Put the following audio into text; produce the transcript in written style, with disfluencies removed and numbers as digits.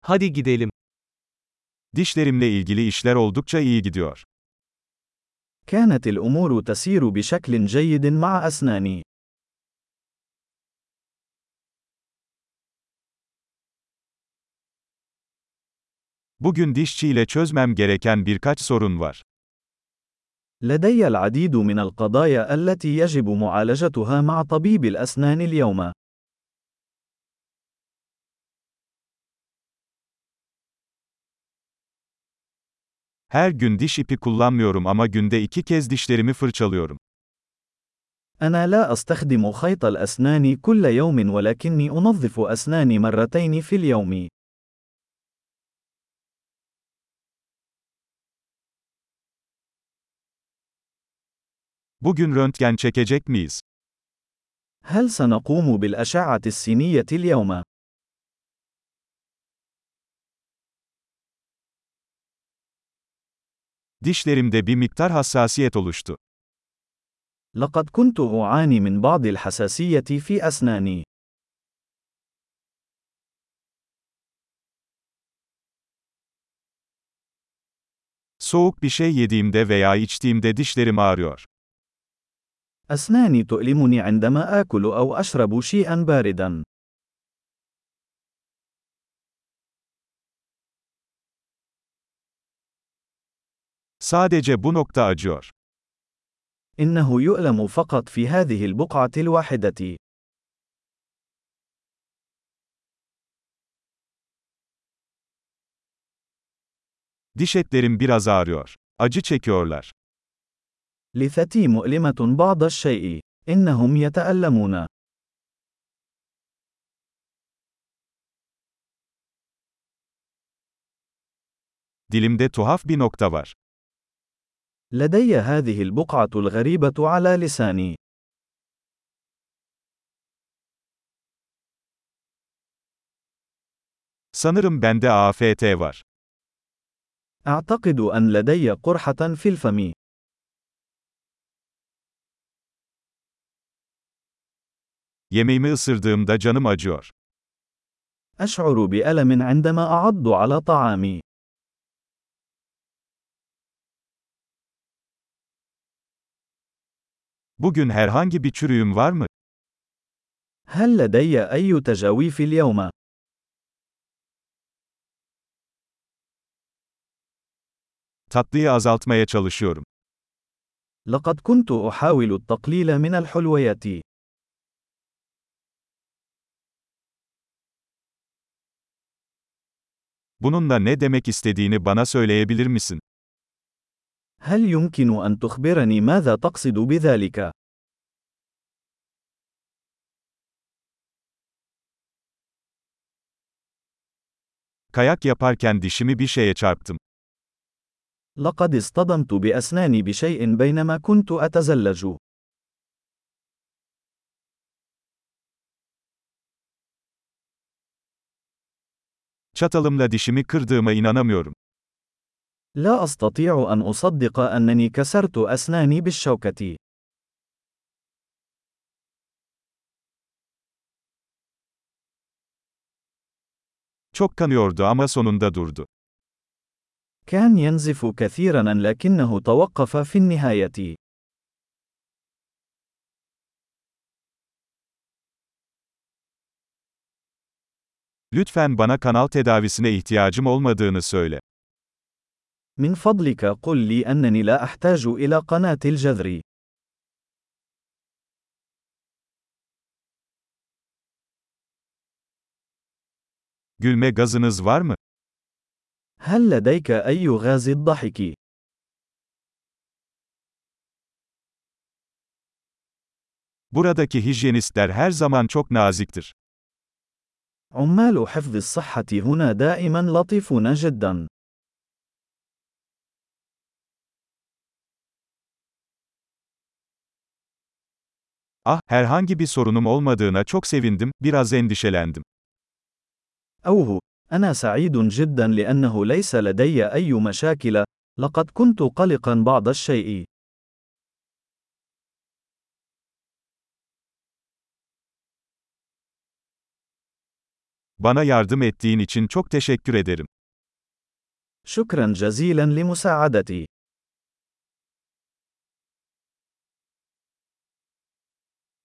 Hadi gidelim. Dişlerimle ilgili işler oldukça iyi gidiyor. كانت الأمور تسير بشكل جيد مع أسناني. Bugün dişçiyle çözmem gereken birkaç sorun var. لدي العديد من القضايا التي يجب معالجتها مع طبيب الأسنان اليوم. Her gün diş ipi kullanmıyorum ama günde 2 kez dişlerimi fırçalıyorum. أنا لا أستخدم خيط الأسنان كل يوم ولكني أنظف أسناني مرتين في اليوم. Bugün röntgen çekecek miyiz? هل سنقوم بالأشعة السينية اليوم؟ Dişlerimde bir miktar hassasiyet oluştu. لقد كنت أعاني من بعض الحساسية في أسناني. Soğuk bir şey yediğimde veya içtiğimde dişlerim ağrıyor. أسناني تؤلمني عندما آكل أو أشرب شيئا باردا. Sadece bu nokta acıyor. إنه يؤلم فقط في هذه البقعة الواحدة. Diş etlerim biraz ağrıyor. Acı çekiyorlar. لثتي مؤلمة بعض الشيء. إنهم يتألمون. Dilimde tuhaf bir nokta var. لدي هذه البقعة الغريبة على لساني. Sanırım bende AFT var. أعتقد أن لدي قرحة في الفم. Yemeğimi ısırdığımda canım acıyor. أشعر بألم عندما أعض على طعامي. Bugün herhangi bir çürüğüm var mı? هل لدي أي تجاويف اليوم؟ Tatlıyı azaltmaya çalışıyorum. لقد كنت أحاول التقليل من الحلويات. Bununla ne demek istediğini bana söyleyebilir misin? هل يمكن أن تخبرني ماذا تقصد بذلك؟ Kayak yaparken dişimi bir şeye çarptım. لقد اصطدمت بأسناني بشيء بينما كنت أتزلج. Çatalımla dişimi kırdığıma inanamıyorum. لا أستطيع أن أصدق أنني كسرت أسناني بالشوكة. Çok kanıyordu ama sonunda durdu. كان ينزف كثيرا لكنه توقف في النهاية. Lütfen bana kanal tedavisine ihtiyacım olmadığını söyle. من فضلك قل لي أنني لا أحتاج إلى قناة الجذر. Gülme gazınız var mı? هل لديك أي غاز الضحك؟ Buradaki hijyenistler her zaman çok naziktir. عمال حفظ الصحة هنا دائما لطيفون جدا. Ah, herhangi bir sorunum olmadığına çok sevindim, biraz endişelendim. أوه، أنا سعيد جدا لأنه ليس لدي أي مشاكل، لقد كنت قلقا بعض الشيء. Bana yardım ettiğin için çok teşekkür ederim. شكرا جزيلا لمساعدتي.